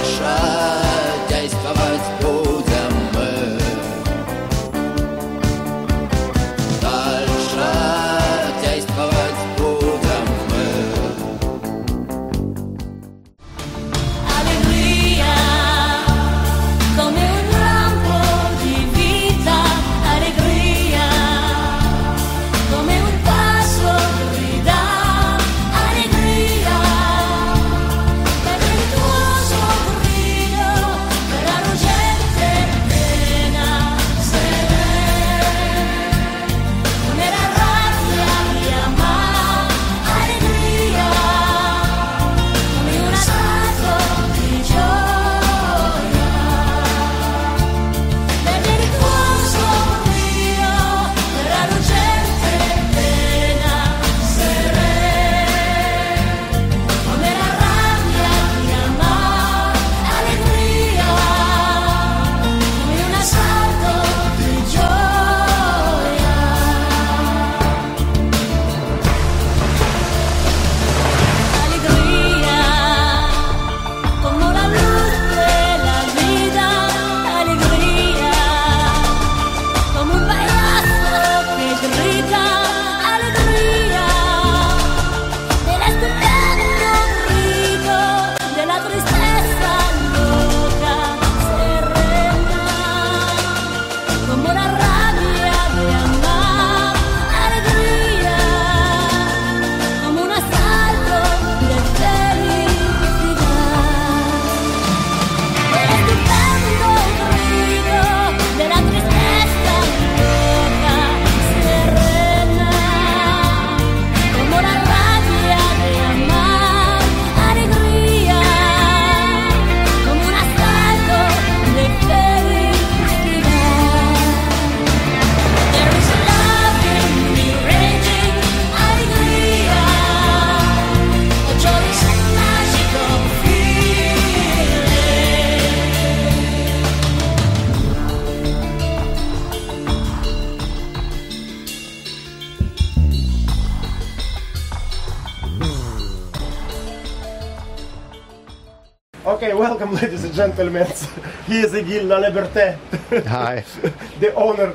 Okay, welcome, ladies and gentlemen. He is Gilles Laliberté. Hi. The owner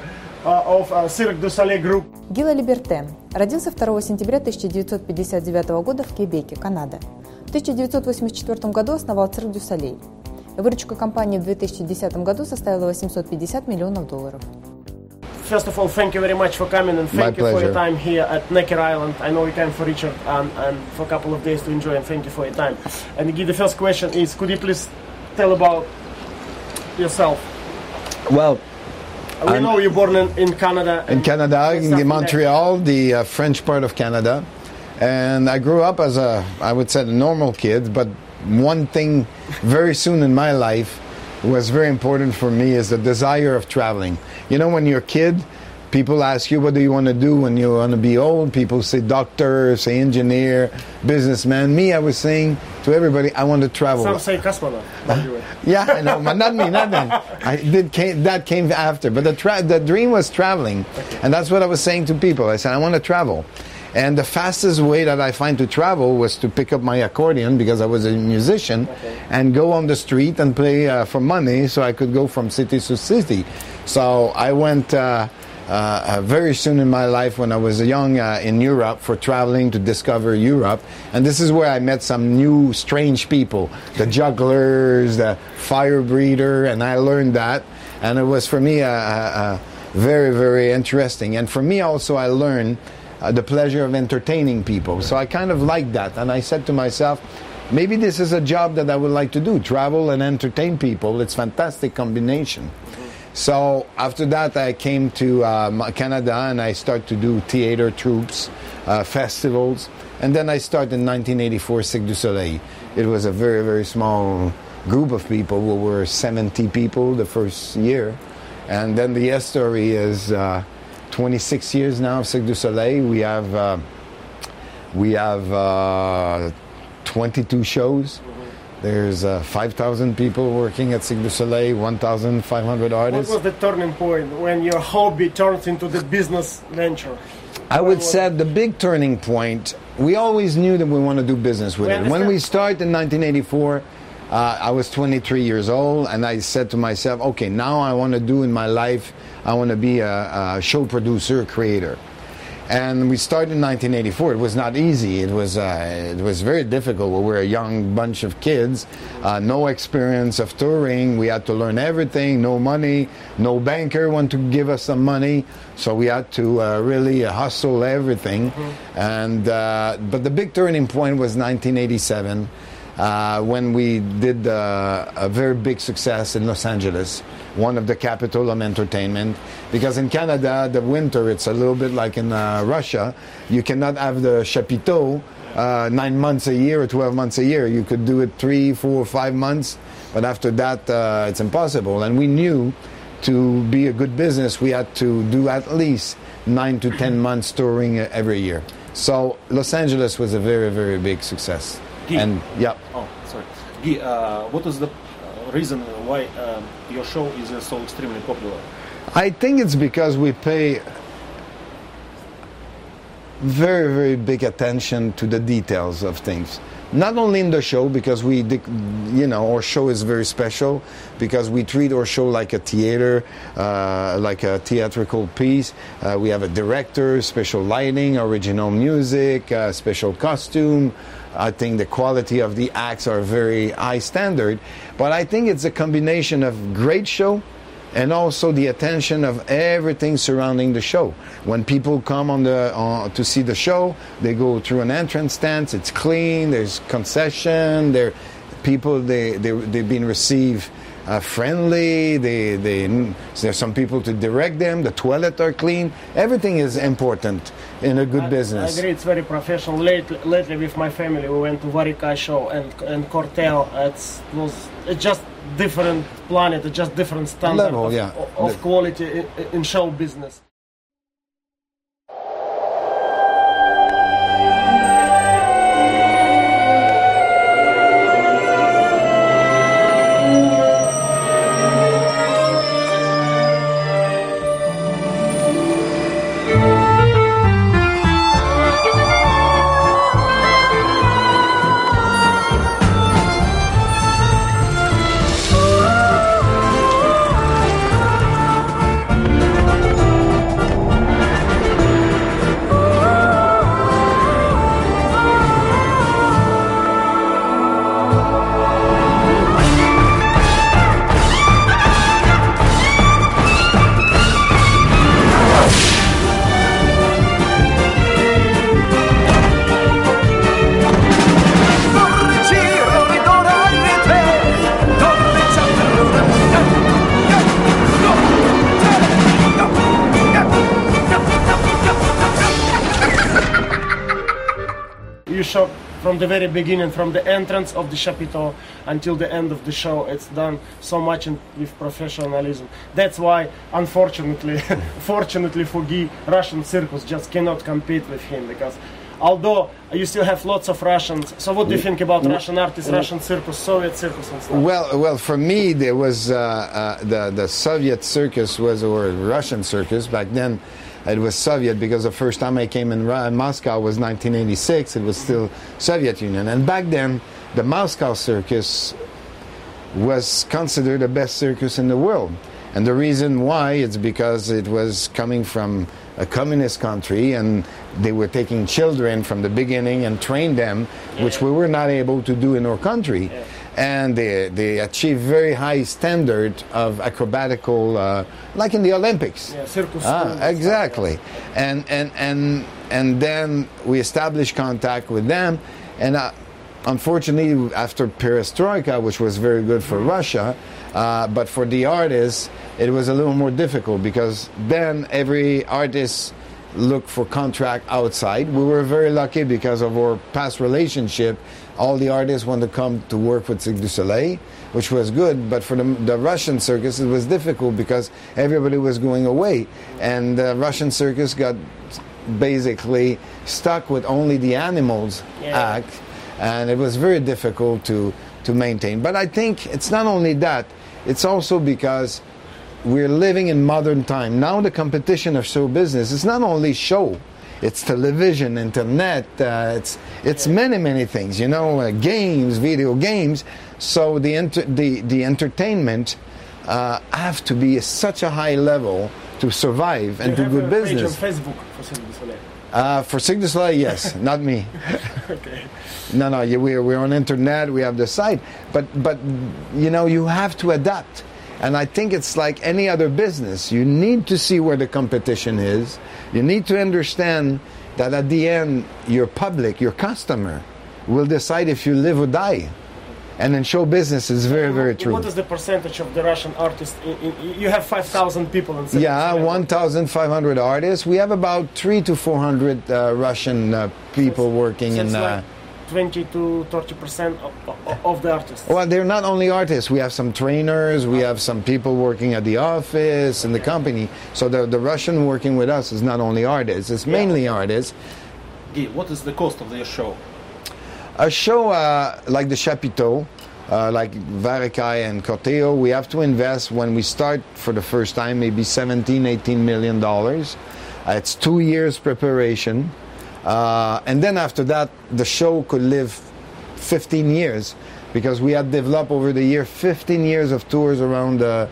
of Cirque du Soleil Group. Гиль Лалиберте родился 2 сентября 1959 года в Квебеке, Канада. В 1984 году основал Cirque du Soleil. Выручка компании в 2010 году составила $850 миллионов. First of all, thank you very much for coming and thank you for your time here at Necker Island. I know you came for Richard and for a couple of days to enjoy, and thank you for your time. And Guy, the first question is, could you please tell about yourself? Well, we know you're born in Canada. In Canada, in Montreal, the French part of Canada. And I grew up as I would say, a normal kid, but one thing very soon in my life was very important for me is the desire of traveling. You know, when you're a kid, people ask you, what do you want to do when you want to be old? People say doctor, say engineer, businessman. Me, I was saying to everybody, I want to travel. Some say cosmonaut. Yeah, I know, but not me, not then. That came after. But the dream was traveling. Okay. And that's what I was saying to people. I said, I want to travel. And the fastest way that I find to travel was to pick up my accordion, because I was a musician, and go on the street and play for money so I could go from city to city. So I went very soon in my life when I was young in Europe for traveling to discover Europe. And this is where I met some new strange people, the jugglers, the fire breather, and I learned that. And it was for me very, very interesting. And for me also I learned the pleasure of entertaining people. So I kind of liked that. And I said to myself, maybe this is a job that I would like to do, travel and entertain people. It's a fantastic combination. So after that, I came to Canada and I started to do theater troupes, festivals. And then I started in 1984 Cirque du Soleil. It was a very, very small group of people. We were 70 people the first year. And then the story is 26 years now of Cirque du Soleil. We have 22 shows. There's 5,000 people working at Cirque du Soleil, 1,500 artists. What was the turning point when your hobby turns into the business venture? I would say the big turning point, we always knew that we want to do business with it. When we started in 1984, I was 23 years old, and I said to myself, okay, now I want to do in my life, I want to be a show producer, creator. And we started in 1984. It was not easy. It was very difficult. We were a young bunch of kids, no experience of touring. We had to learn everything. No money. No banker wanted to give us some money, so we had to really hustle everything. And but the big turning point was 1987. When we did a very big success in Los Angeles, one of the capital of entertainment. Because in Canada, the winter, it's a little bit like in Russia. You cannot have the chapiteau 9 months a year or 12 months a year. You could do it 3, 4, 5 months, but after that, it's impossible. And we knew to be a good business, we had to do at least 9 to 10 months touring every year. So Los Angeles was a very, very big success. Guy. And yeah. Oh, sorry. Guy, what is the reason why your show is so extremely popular? I think it's because we pay very, very big attention to the details of things. Not only in the show, because our show is very special, because we treat our show like a theater, like a theatrical piece. We have a director, special lighting, original music, special costume. I think the quality of the acts are very high standard. But I think it's a combination of great show and also the attention of everything surrounding the show. When people come to see the show, they go through an entrance stand. It's clean. There's concession. They've been received friendly. There's some people to direct them. The toilets are clean. Everything is important in a good business. I agree. It's very professional. Lately, with my family, we went to Varika show and Cortel. It's just different planet, it's just different standard of quality in show business. Shot from the very beginning, from the entrance of the chapiteau until the end of the show. It's done so much with professionalism. That's why, unfortunately, fortunately for Guy, Russian circus just cannot compete with him, because although you still have lots of Russians. So what do you think about Russian artists, Russian circus, Soviet circus and stuff? Well, for me, there was the Soviet circus or Russian circus back then. It was Soviet because the first time I came in Moscow was 1986. It was still Soviet Union. And back then, the Moscow circus was considered the best circus in the world. And the reason why is because it was coming from a communist country, and they were taking children from the beginning and trained them, which we were not able to do in our country. And they achieved very high standard of acrobatical, like in the Olympics. Yeah, circus. Exactly. And then we established contact with them, and unfortunately, after Perestroika, which was very good for Russia, but for the artists, it was a little more difficult, because then every artist looked for contract outside. We were very lucky because of our past relationship. All the artists wanted to come to work with Cirque du Soleil, which was good, but for the Russian circus, it was difficult because everybody was going away, and the Russian circus got basically stuck with only the animals act, and it was very difficult to maintain. But I think it's not only that, it's also because we're living in modern time. Now the competition of show business is not only show, it's television, internet, it's many things, games, video games. So the entertainment have to be at such a high level to survive and do good business. Page on Facebook for Cirque du Soleil? For Cirque du Soleil, yes, not me. Okay. No, we're on internet. We have the site, but you have to adapt. And I think it's like any other business. You need to see where the competition is. You need to understand that at the end, your public, your customer, will decide if you live or die. And in show business, it's very, very true. What is the percentage of the Russian artists? You have 5,000 people in Cirque du Soleil. 1,500 artists. We have about 300 to 400 Russian people working in. Like 20 to 30% of the artists. Well, they're not only artists. We have some trainers. We have some people working at the office and the company. So the Russian working with us is not only artists. It's mainly artists. Guy, what is the cost of their show? A show like the Chapiteaux, like Varekai and Corteo, we have to invest when we start for the first time maybe $17-18 million. It's 2 years preparation. And then after that, the show could live 15 years because we had developed over the year 15 years of tours around the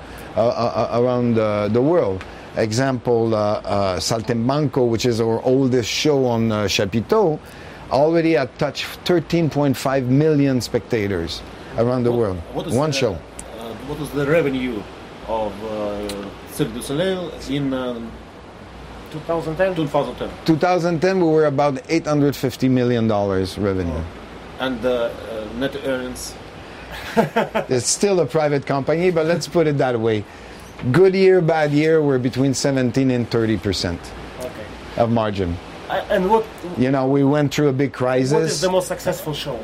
world. Example, Saltimbanco, which is our oldest show on Chapiteaux, already had touched 13.5 million spectators around the world. One show. What is the revenue of Cirque du Soleil in 2010? 2010, we were about $850 million revenue. And net earnings? It's still a private company, but let's put it that way. Good year, bad year, we're between 17 and 30% of margin. And what? We went through a big crisis. What is the most successful show?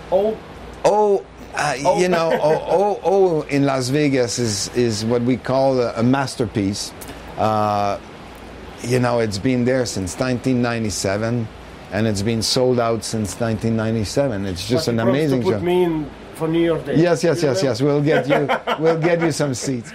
In Las Vegas is what we call a masterpiece. It's been there since 1997, and it's been sold out since 1997. It's just an amazing show. Put me in for New York Day. Yes. We'll get you some seats.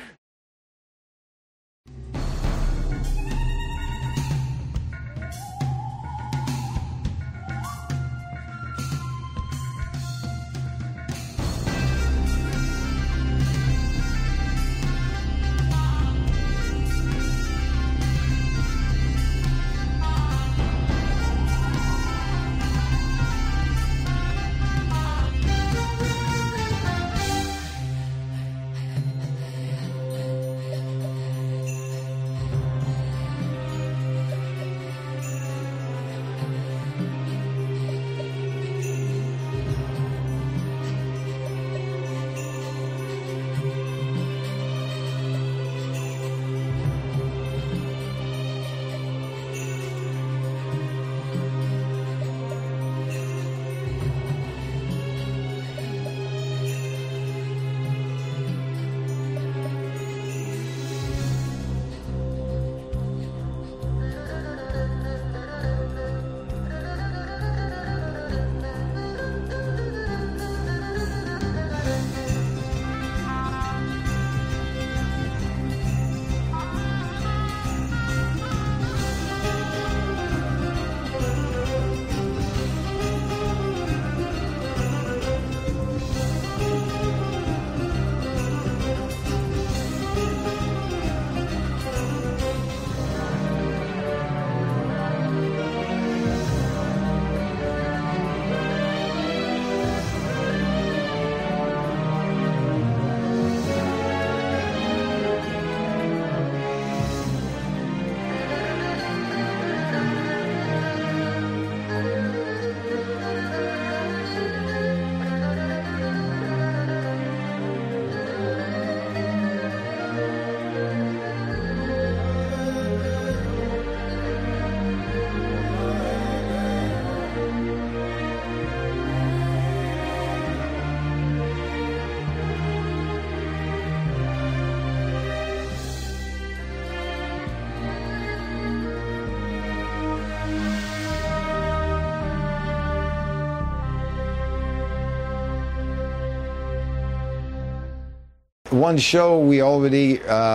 One show we already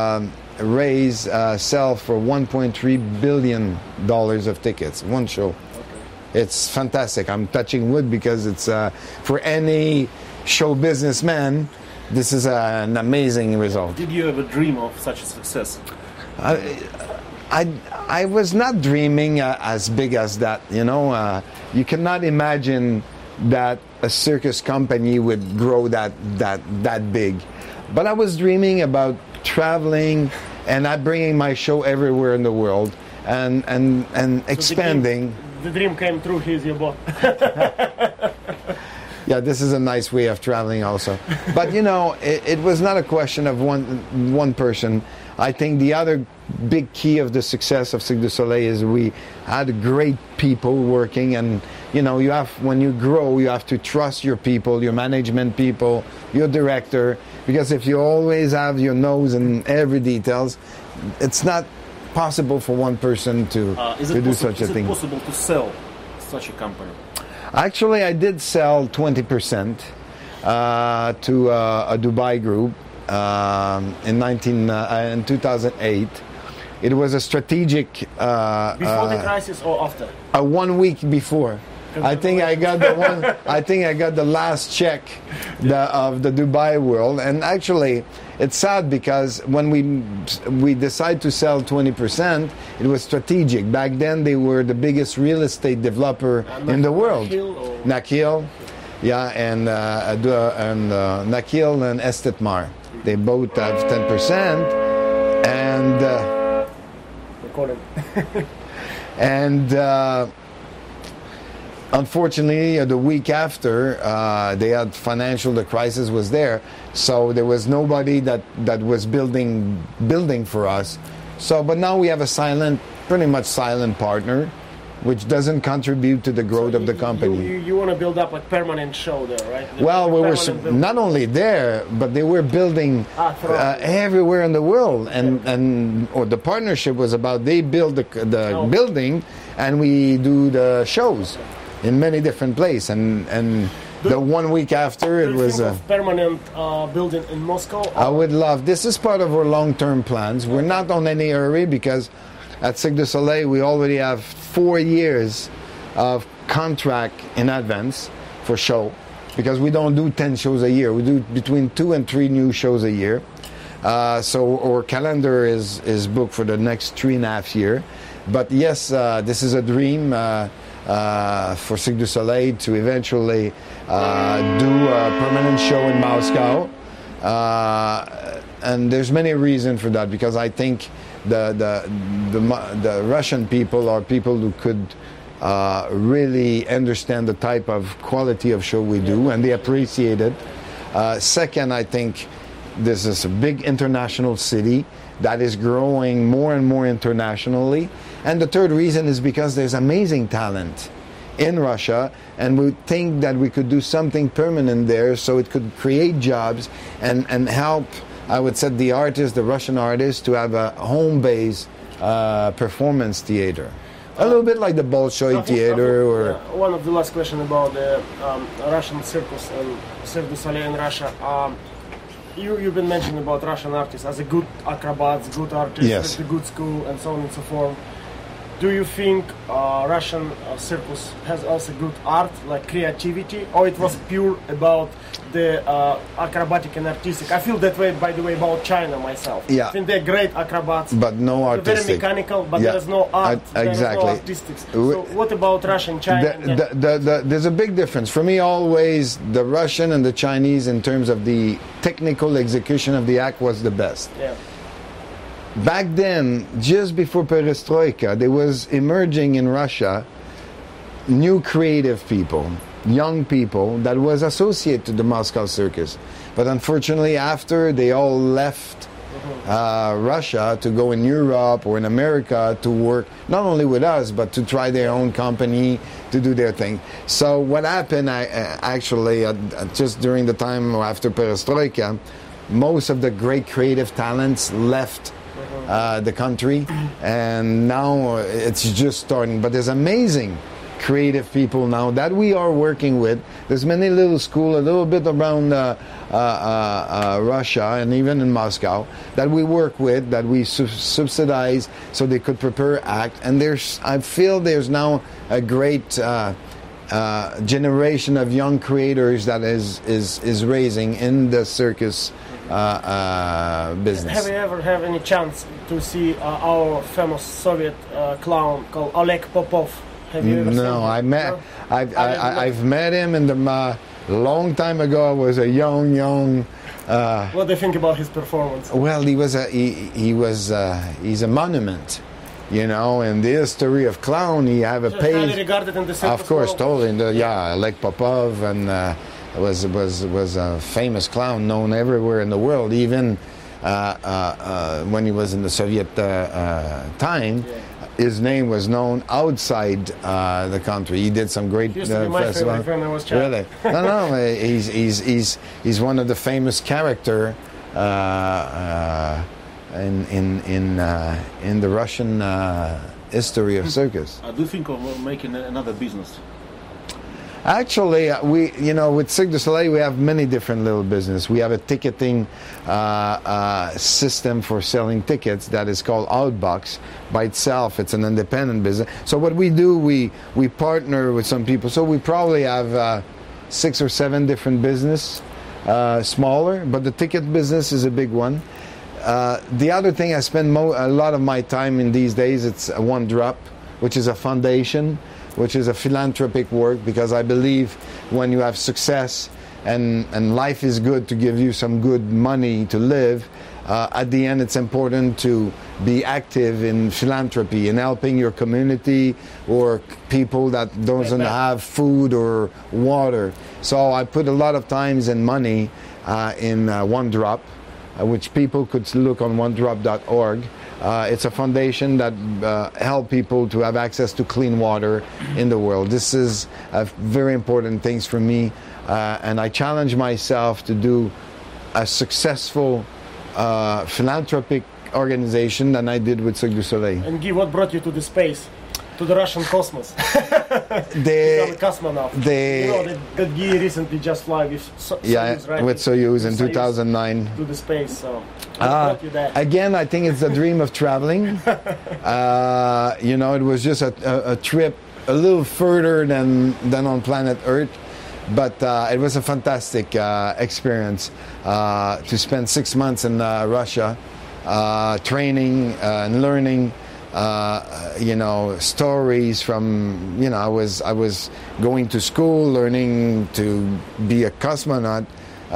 sell for $1.3 billion of tickets. One show. It's fantastic. I'm touching wood because it's for any show businessman, this is an amazing result. Did you ever dream of such a success? I was not dreaming as big as that. You cannot imagine that a circus company would grow that big. But I was dreaming about traveling and bringing my show everywhere in the world and expanding. The dream came true. He's your boss. Yeah, this is a nice way of traveling also. But it was not a question of one person. I think the other big key of the success of Cirque du Soleil is we had great people working, and when you grow, you have to trust your people, your management people, your director, because if you always have your nose in every details, it's not possible for one person to do such a thing. Is it possible to sell such a company? Actually, I did sell 20% to a Dubai group in 2008. It was a strategic. Before the crisis or after? 1 week before. I think I got the last check of the Dubai world, and actually, it's sad because when we decided to sell 20%, it was strategic. Back then, they were the biggest real estate developer in the world. Nakheel, yeah, and Nakheel and Estetmar. They both have 10%, and unfortunately, the week after, they had the crisis was there, so there was nobody that was building for us. So, but now we have a pretty much silent partner, which doesn't contribute to the growth of the company. You want to build up a permanent show there, right? Well, we were not only there, but they were building everywhere in the world, and the partnership was about they build the building, and we do the shows in many different places, and the 1 week after it was a permanent building in Moscow. I would love. This is part of our long-term plans. We're not on any hurry because at Cirque du Soleil we already have 4 years of contract in advance for show, because we don't do 10 shows a year. We do between 2 and 3 new shows a year. So our calendar is booked for the next 3.5 years. But yes, this is a dream. For Cirque du Soleil to eventually do a permanent show in Moscow, and there's many reasons for that, because I think the Russian people are people who could really understand the type of quality of show we do, and they appreciate it. Second, I think this is a big international city that is growing more and more internationally. And the third reason is because there's amazing talent in Russia, and we think that we could do something permanent there, so it could create jobs and help, I would say, the Russian artists, to have a home-based performance theater. A little bit like the Bolshoi Theater. Or one of the last questions about the Russian circus and Cirque du Soleil in Russia. You've been mentioning about Russian artists as a good acrobats, good artists, yes, with a good school, and so on and so forth. Do you think Russian circus has also good art, like creativity, or it was pure about the acrobatic and artistic? I feel that way, by the way, about China myself. Yeah. I think they're great acrobats, but no artistic. Very mechanical, but there's no art. Exactly. There's no artistics. So what about Russia and China? There's a big difference. For me, always, the Russian and the Chinese, in terms of the technical execution of the act, was the best. Yeah. Back then, just before Perestroika, there was emerging in Russia new creative people, young people that was associated to the Moscow Circus. But unfortunately, after they all left Russia to go in Europe or in America to work, not only with us, but to try their own company, to do their thing. So what happened, just during the time after Perestroika, most of the great creative talents left the country, and now it's just starting. But there's amazing creative people now that we are working with. There's many little schools a little bit around Russia and even in Moscow that we work with, that we subsidize so they could prepare act. And I feel there's now a great generation of young creators that is raising in the circus business. Have you ever had any chance to see our famous Soviet clown called Oleg Popov? Have you ever seen him? I met. No? I've met him in the long time ago. I was a young. What do you think about his performance? Well, he's a monument, you know. In the history of clown, he have a page. Highly regarded in the circus Of course, world. totally. Oleg Popov, and was a famous clown known everywhere in the world, even when he was in the Soviet time. Yeah. His name was known outside the country. He did some great He used to be my festivals. favorite when I was a child. Really? No. He's one of the famous character in the Russian history of circus. I do think of making another business. Actually, with Cirque du Soleil, we have many different little business. We have a ticketing system for selling tickets that is called Outbox. By itself, it's an independent business. So what we do, we partner with some people. So we probably have 6 or 7 different business, smaller, but the ticket business is a big one. The other thing I spend a lot of my time in these days, it's One Drop, which is a foundation, which is a philanthropic work, because I believe when you have success and life is good to give you some good money to live, at the end it's important to be active in philanthropy, in helping your community or people that doesn't have food or water. So I put a lot of times and money in One Drop, which people could look on onedrop.org. It's a foundation that help people to have access to clean water in the world. This is very important things for me, and I challenge myself to do a successful philanthropic organization than I did with Cirque du Soleil. And Guy, what brought you to the space? To the Russian cosmos? Become a cosmonaut. You know that Guy recently just flew with Soyuz, right? With Soyuz in 2009. To the space, so what brought you there? Again, I think it's the dream of traveling. It was just a trip a little further than on planet Earth. But it was a fantastic experience to spend 6 months in Russia, training and learning. Stories from, I was going to school, learning to be a cosmonaut,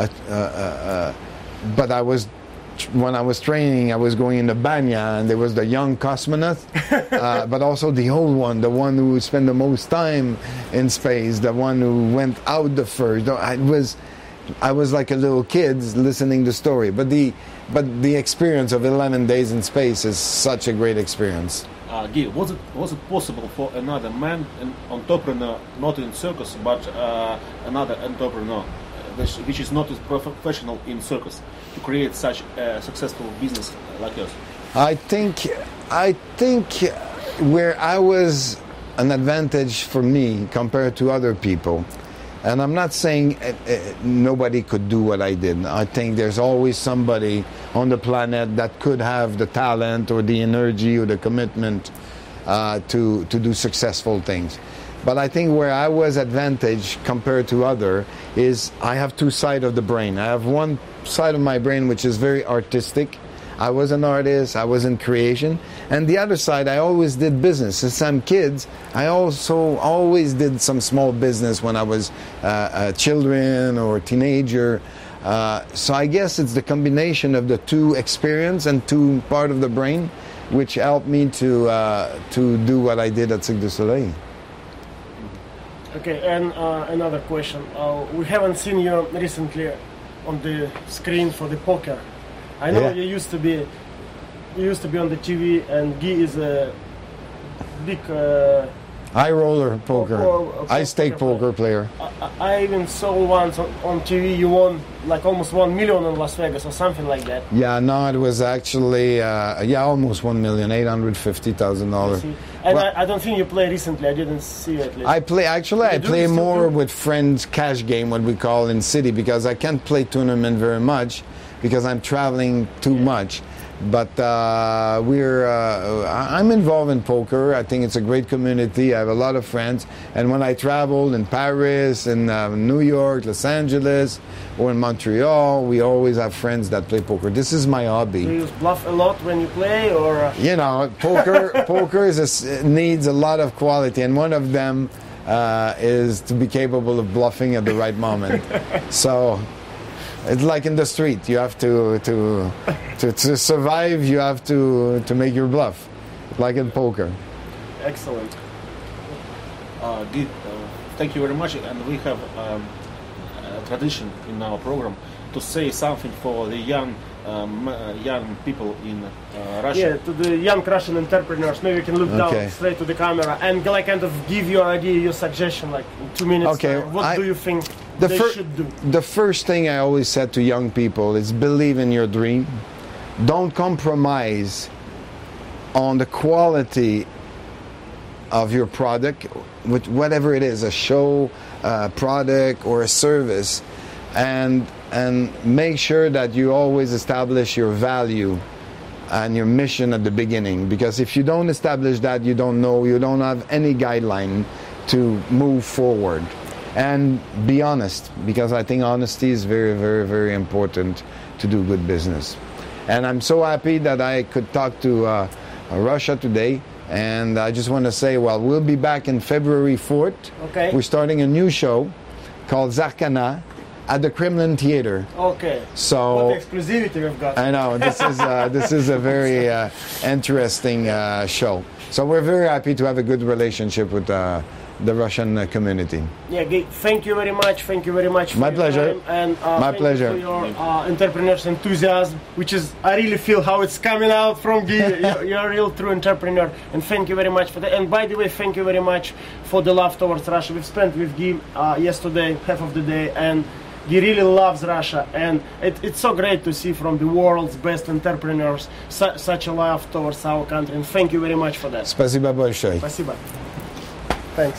but when I was training, I was going in the banya, and there was the young cosmonaut, but also the old one, the one who spent the most time in space, the one who went out the first. I was like a little kid listening to the story, but the experience of 11 days in space is such a great experience. Guy, was it possible for another man, an entrepreneur, not in circus, but another entrepreneur, which is not as professional in circus, to create such a successful business like yours? I think where I was an advantage for me compared to other people. And I'm not saying nobody could do what I did. I think there's always somebody on the planet that could have the talent or the energy or the commitment to do successful things. But I think where I was advantage compared to other is I have 2 sides of the brain. I have one side of my brain which is very artistic. I was an artist, I was in creation. And the other side, I always did business. Since I'm kids, I also always did some small business when I was a children or teenager. So I guess it's the combination of the 2 experience and 2 part of the brain which helped me to do what I did at Cirque du Soleil. Okay, and another question. We haven't seen you recently on the screen for the poker. I know you used to be on the TV, and Guy is a big high roller poker, ice stake poker player. I even saw once on TV you won like almost 1 million in Las Vegas or something like that. Yeah, no, it was actually almost $1,850,000. And I don't think you play recently. I didn't see it. I play more with friends, cash game, what we call in city, because I can't play tournament very much because I'm traveling too much. But I'm involved in poker. I think it's a great community. I have a lot of friends. And when I travel in Paris, in New York, Los Angeles, or in Montreal, we always have friends that play poker. This is my hobby. Do you bluff a lot when you play, or? You know, poker needs a lot of quality, and one of them is to be capable of bluffing at the right moment. So it's like in the street. You have to survive. You have to make your bluff, like in poker. Excellent. Guy, thank you very much. And we have a tradition in our program to say something for the young people in Russia. Yeah, to the young Russian entrepreneurs. Maybe you can look down straight to the camera and like kind of give your idea, your suggestion, like in 2 minutes. Okay. What do you think they should do? The first thing I always said to young people is believe in your dream. Don't compromise on the quality of your product, whatever it is, a show, a product, or a service, and make sure that you always establish your value and your mission at the beginning, because if you don't establish that, you don't have any guideline to move forward. And be honest, because I think honesty is very, very, very important to do good business. And I'm so happy that I could talk to Russia today. And I just want to say, well, we'll be back in February 4th. Okay. We're starting a new show called Zarkana at the Kremlin Theater. Okay. So what exclusivity we've got. I know, this is a very interesting show. So we're very happy to have a good relationship with the Russian community. Yeah, Guy, thank you very much. Thank you very much. My pleasure. And my pleasure. You for your entrepreneur's enthusiasm, which is, I really feel how it's coming out from Guy. You're a real true entrepreneur. And thank you very much for that. And by the way, thank you very much for the love towards Russia. We've spent with Guy yesterday, half of the day, and Guy really loves Russia, and it's so great to see from the world's best entrepreneurs such a love towards our country. And thank you very much for that. Спасибо большое. Спасибо. Thanks.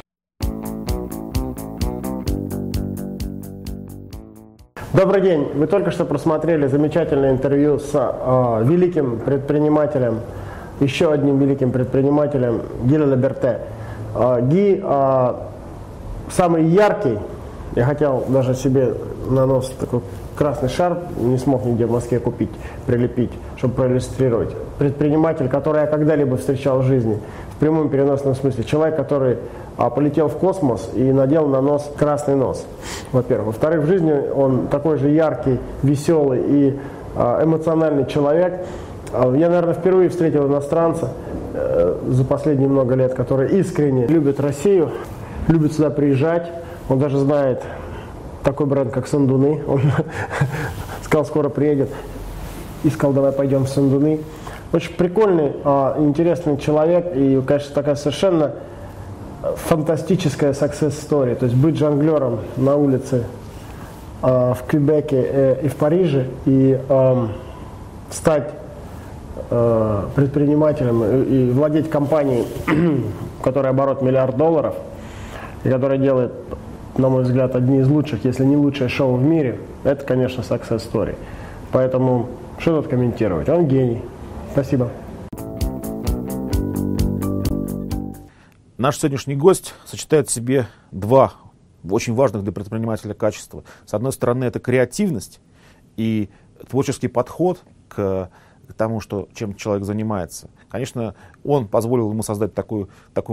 Добрый день. Вы только что просмотрели замечательное интервью с великим предпринимателем, еще одним великим предпринимателем, Ги Либерте. Ги самый яркий. Я хотел даже себе на нос такой красный шар, не смог нигде в Москве купить, прилепить, чтобы проиллюстрировать. Предприниматель, который я когда-либо встречал в жизни, в прямом переносном смысле. Человек, который полетел в космос и надел на нос красный нос, во-первых. Во-вторых, в жизни он такой же яркий, веселый и эмоциональный человек. Я, наверное, впервые встретил иностранца за последние много лет, который искренне любит Россию, любит сюда приезжать. Он даже знает такой бренд, как Сандуны. Он сказал, скоро приедет. И сказал, давай пойдем в Сандуны. Очень прикольный, интересный человек. И, конечно, такая совершенно фантастическая success story. То есть быть жонглером на улице в Квебеке и в Париже, и стать предпринимателем и владеть компанией, которая оборот $1 миллиард, и которая делает, на мой взгляд, одни из лучших, если не лучшее шоу в мире, это, конечно, success story. Поэтому что тут комментировать? Он гений. Спасибо. Наш сегодняшний гость сочетает в себе два очень важных для предпринимателя качества. С одной стороны, это креативность и творческий подход к тому, чем человек занимается. Конечно, он позволил ему создать такую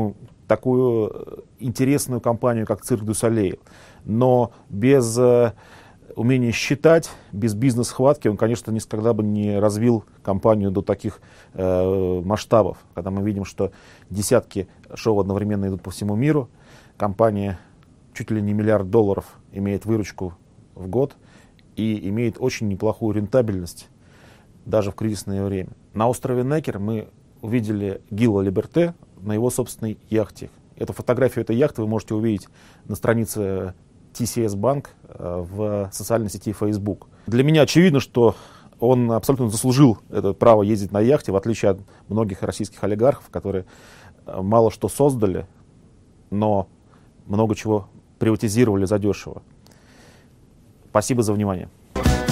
интересную компанию, как Cirque du Soleil. Но без умения считать, без бизнес-хватки он, конечно, никогда бы не развил компанию до таких масштабов. Когда мы видим, что десятки шоу одновременно идут по всему миру, компания чуть ли не $1 миллиард имеет выручку в год и имеет очень неплохую рентабельность даже в кризисное время. На острове Некер мы увидели Гила Либерте на его собственной яхте. Эту фотографию этой яхты вы можете увидеть на странице TCS Bank в социальной сети Facebook. Для меня очевидно, что он абсолютно заслужил это право ездить на яхте, в отличие от многих российских олигархов, которые мало что создали, но много чего приватизировали задешево. Спасибо за внимание.